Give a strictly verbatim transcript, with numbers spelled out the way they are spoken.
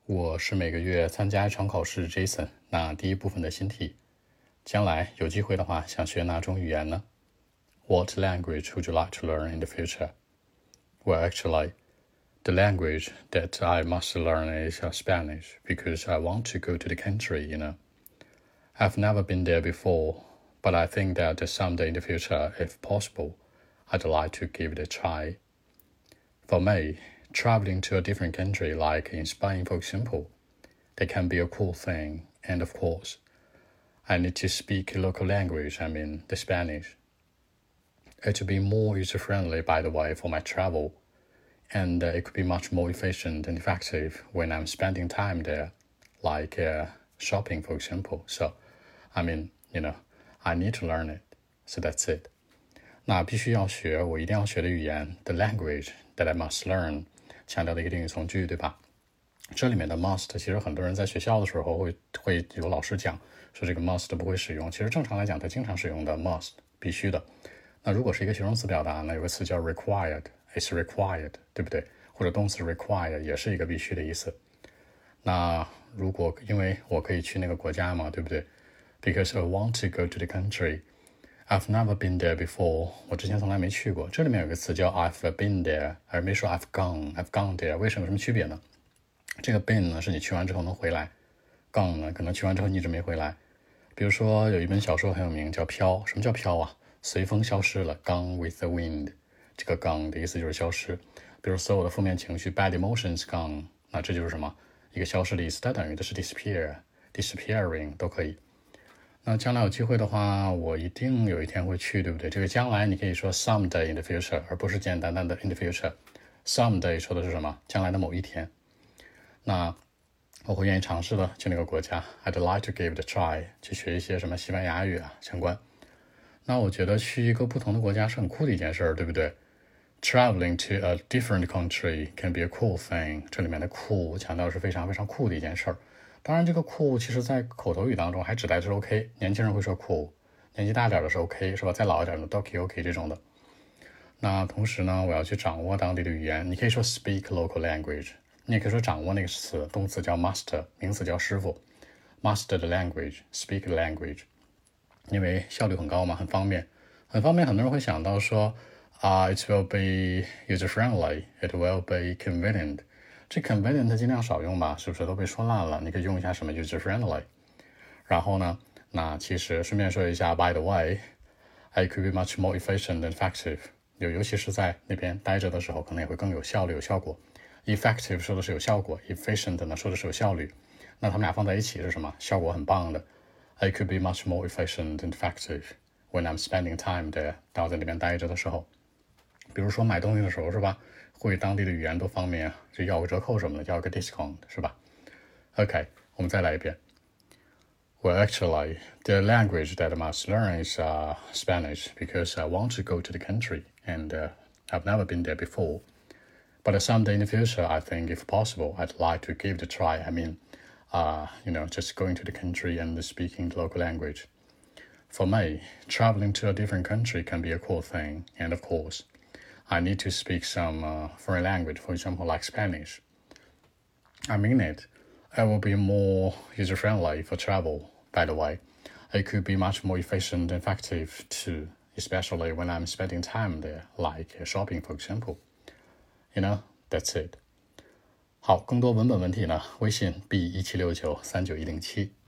我是每个月参加一场考试 Jason， 那第一部分的新题，将来有机会的话想学哪种语言呢？ What language would you like to learn in the future? Well, actually, the language that I must learn is uh, Spanish because I want to go to the country, you know. I've never been there before, but I think that someday in the future, if possible, I'd like to give it a try. For me, traveling to a different country, like in Spain, for example, that can be a cool thing. And of course, I need to speak local language, I mean, the Spanish. It would be more user-friendly, by the way, for my travel. And uh, it could be much more efficient and effective when I'm spending time there, like uh, shopping, for example. So, I mean, you know, I need to learn it. So that's it. 那必须要学，我一定要学的语言 the language that I must learn， 强调的一个定语从句，对吧？这里面的 must 其实很多人在学校的时候会会有老师讲说这个 must 不会使用，其实正常来讲它经常使用的 must 必须的。那如果是一个形容词表达，那有个词叫 required， it's required， 对不对？或者动词 require 也是一个必须的意思。那如果因为我可以去那个国家嘛，对不对？ Because I want to go to the country。I've never been there before， 我之前从来没去过。这里面有个词叫 I've been there， 而没说 I've gone，I've gone there， 为什么有什么区别呢？这个 been 呢是你去完之后能回来， gone 呢可能去完之后你一直没回来。比如说有一本小说很有名叫飘，什么叫飘啊？随风消失了， gone with the wind， 这个 gone 的意思就是消失。比如所有的负面情绪 bad emotions gone， 那这就是什么？一个消失的意思，它等于的是 disappear disappearing 都可以。那将来有机会的话，我一定有一天会去，对不对？这个将来你可以说 someday in the future， 而不是简单单的 in the future。 someday 说的是什么？将来的某一天。那我会愿意尝试的去那个国家 I'd like to give it a try， 去学一些什么西班牙语啊相关。那我觉得去一个不同的国家是很酷的一件事，对不对？ Traveling to a different country can be a cool thing， 这里面的酷强调是非常非常酷的一件事。当然这个酷其实在口头语当中还指代的是 OK， 年轻人会说酷，年纪大点的是 OK， 是吧？再老一点的 Doki OK 这种的。那同时呢，我要去掌握当地的语言，你可以说 speak local language， 你也可以说掌握那个词，动词叫 master， 名词叫师傅， master the language， speak the language， 因为效率很高嘛，很方便很方便。很多人会想到说啊、uh, it will be user friendly， it will be convenient，这 convenient 尽量少用吧，是不是都被说烂了？你可以用一下什么 user friendly。 然后呢，那其实顺便说一下 by the way， it could be much more efficient and effective， 尤其是在那边待着的时候可能也会更有效率有效果。 effective 说的是有效果， efficient 呢说的是有效率，那他们俩放在一起是什么？效果很棒的。 it could be much more efficient and effective when I'm spending time there， 当我在那边待着的时候，比如说买东西的时候是吧，会当地的语言多方便啊，就要个折扣什么的，要个 discount 是吧？ OK， 我们再来一遍。 Well, actually, the language that I must learn is uh, Spanish because I want to go to the country and uh, I've never been there before. But someday in the future, I think if possible, I'd like to give it a try. I mean, uh, you know, just going to the country and speaking the local language. For me, traveling to a different country can be a cool thing, and of course, I need to speak some uh, foreign language, for example, like Spanish. I mean it. It will be more user-friendly for travel, by the way. It could be much more efficient and effective too, especially when I'm spending time there, like shopping, for example. You know, that's it. 好，更多文本问题呢，微信 b 一七六九三九一零七。